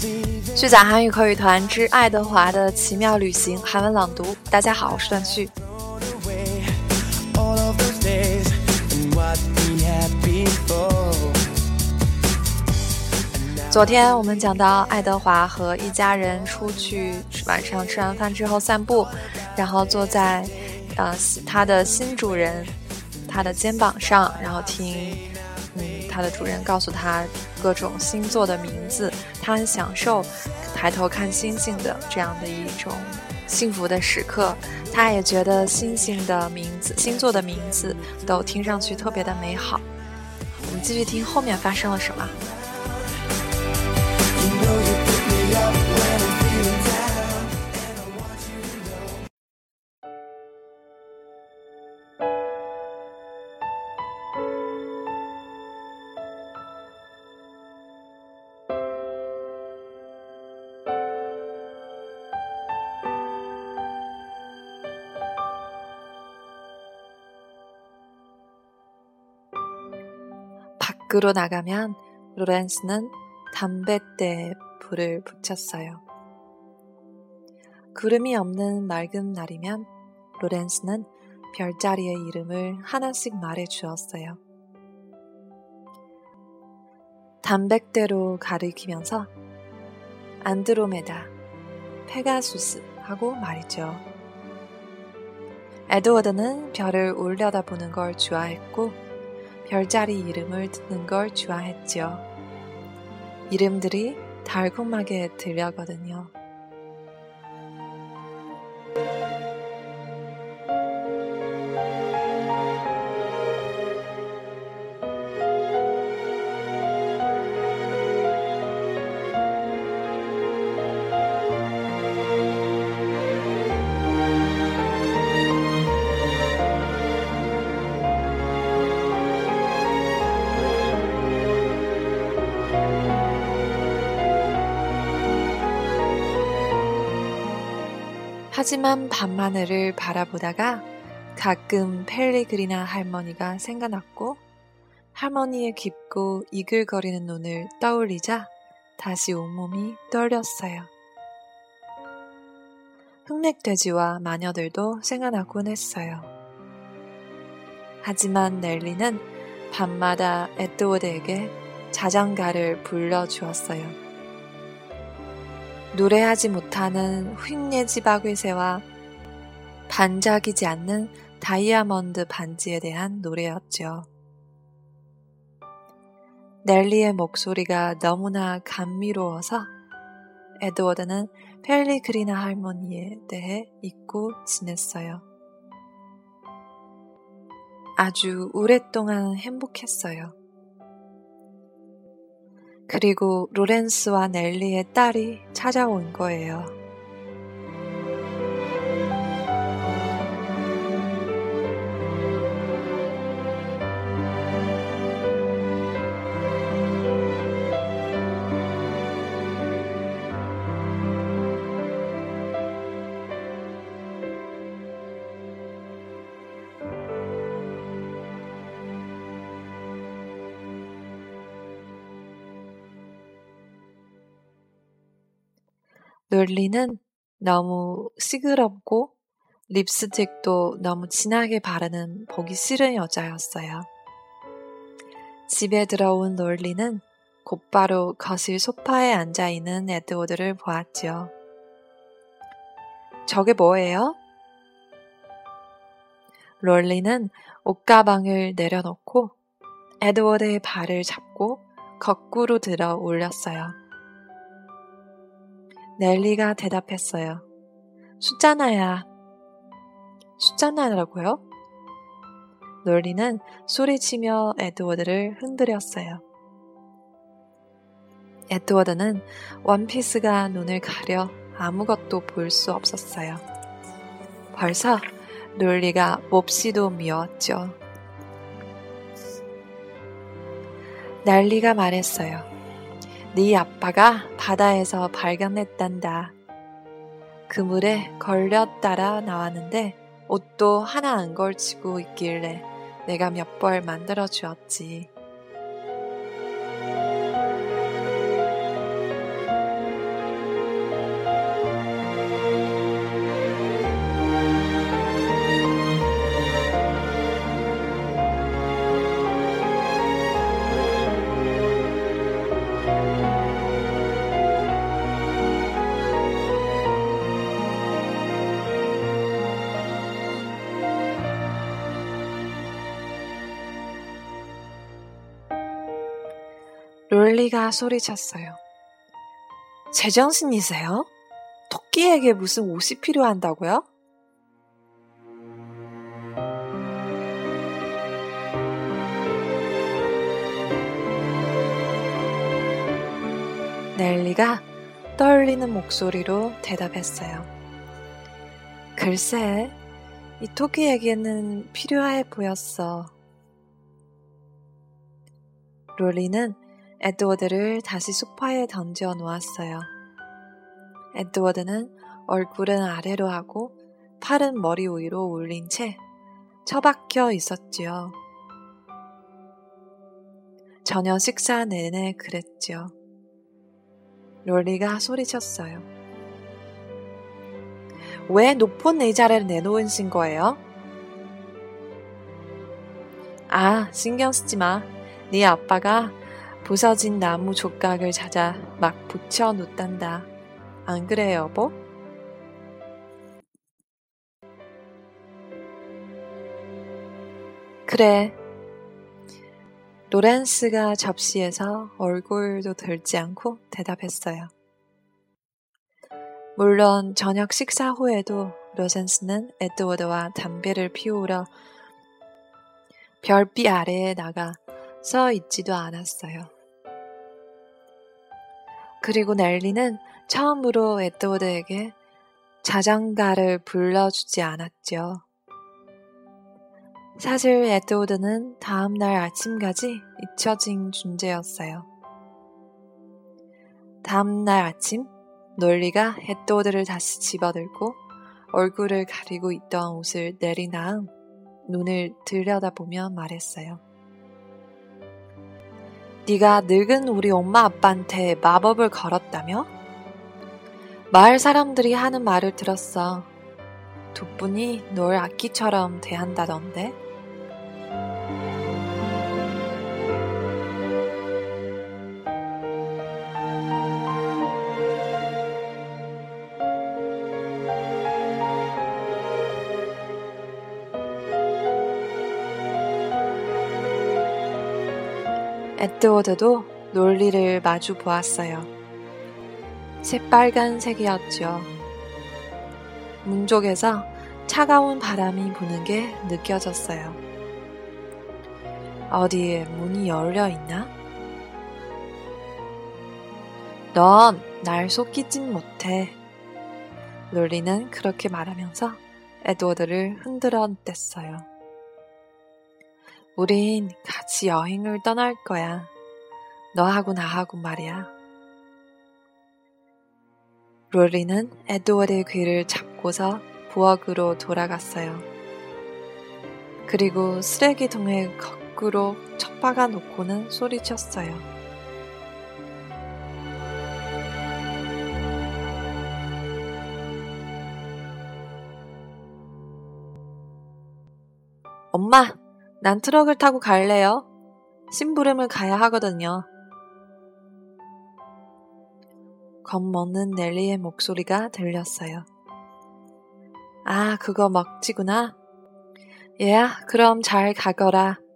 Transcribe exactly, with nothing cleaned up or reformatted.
虚假韩语口语团之爱德华的奇妙旅行韩文朗读。大家好，我是段旭。昨天我们讲到爱德华和一家人出去晚上吃完饭之后散步，然后坐在呃他的新主人他的肩膀上，然后听嗯他的主人告诉他各种星座的名字，他很享受抬头看星星的这样的一种幸福的时刻。他也觉得星星的名字星座的名字都听上去特别的美好。我们继续听后面发生了什么。밖으로 나가면 로렌스는 담뱃대에 불을 붙였어요. 구름이 없는 맑은 날이면 로렌스는 별자리의 이름을 하나씩 말해 주었어요. 담백대로 가리키면서 안드로메다, 페가수스 하고 말이죠. 에드워드는 별을 올려다보는 걸 좋아했고 별자리 이름을 듣는 걸 좋아했죠. 이름들이 달콤하게 들려거든요. 하지만 밤하늘을 바라보다가 가끔 펠리그리나 할머니가 생각났고 할머니의 깊고 이글거리는 눈을 떠올리자 다시 온몸이 떨렸어요. 흑맥돼지와 마녀들도 생각나곤 했어요. 하지만 넬리는 밤마다 에드워드에게 자장가를 불러주었어요. 노래하지 못하는 휙내지바귀새와 반짝이지 않는 다이아몬드 반지에 대한 노래였죠. 넬리의 목소리가 너무나 감미로워서 에드워드는 펠리그리나 할머니에 대해 잊고 지냈어요. 아주 오랫동안 행복했어요. 그리고 로렌스와 넬리의 딸이 찾아온 거예요. 넬리는 너무 시끄럽고 립스틱도 너무 진하게 바르는 보기 싫은 여자였어요. 집에 들어온 넬리는 곧바로 거실 소파에 앉아있는 에드워드를 보았죠. 저게 뭐예요? 넬리는 옷가방을 내려놓고 에드워드의 발을 잡고 거꾸로 들어 올렸어요. 넬리가 대답했어요. 숫자나야. 숫자나라고요? 넬리는 소리치며 에드워드를 흔들었어요. 에드워드는 원피스가 눈을 가려 아무것도 볼 수 없었어요. 벌써 넬리가 몹시도 미웠죠. 넬리가 말했어요. 네 아빠가 바다에서 발견했단다. 그물에 걸려 따라 나왔는데 옷도 하나 안 걸치고 있길래 내가 몇 벌 만들어 주었지. 롤리가 소리쳤어요. 제정신이세요? 토끼에게 무슨 옷이 필요한다고요? 넬리가 떨리는 목소리로 대답했어요. 글쎄, 이 토끼에게는 필요해 보였어. 롤리는 에드워드를 다시 소파에 던져 놓았어요. 에드워드는 얼굴은 아래로 하고 팔은 머리 위로 올린 채 처박혀 있었지요. 저녁 식사 내내 그랬죠. 롤리가 소리쳤어요. 왜 높은 의자를 내놓으신 거예요? 아, 신경 쓰지 마. 네 아빠가 부서진 나무 족각을 찾아 막 붙여 놓단다. 안 그래, 여보? 그래. 로렌스가 접시에서 얼굴도 들지 않고 대답했어요. 물론 저녁 식사 후에도 로렌스는 에드워드와 담배를 피우러 별빛 아래에 나가 서 있지도 않았어요. 그리고 넬리는 처음으로 에드워드에게 자장가를 불러주지 않았죠. 사실 에드워드는 다음날 아침까지 잊혀진 존재였어요. 다음날 아침 롤리가 에드워드를 다시 집어들고 얼굴을 가리고 있던 옷을 내린 다음 눈을 들여다보며 말했어요. 네가 늙은 우리 엄마 아빠한테 마법을 걸었다며? 마을 사람들이 하는 말을 들었어. 두 분이 널 아기처럼 대한다던데? 에드워드도 롤리를 마주 보았어요. 새빨간색이었죠. 문 쪽에서 차가운 바람이 부는 게 느껴졌어요. 어디에 문이 열려 있나? 넌 날 속이진 못해. 롤리는 그렇게 말하면서 에드워드를 흔들어 댔어요. 우린 같이 여행을 떠날 거야. 너하고 나하고 말이야. 롤리는 에드워드의 귀를 잡고서 부엌으로 돌아갔어요. 그리고 쓰레기통에 거꾸로 처박아 놓고는 소리쳤어요. 엄마, 난 트럭을 타고 갈래요. 심부름을 가야 하거든요. 겁먹는 넬리의 목소리가 들렸어요. 아, 그거 먹지구나. 얘야, 그럼 잘 가거라.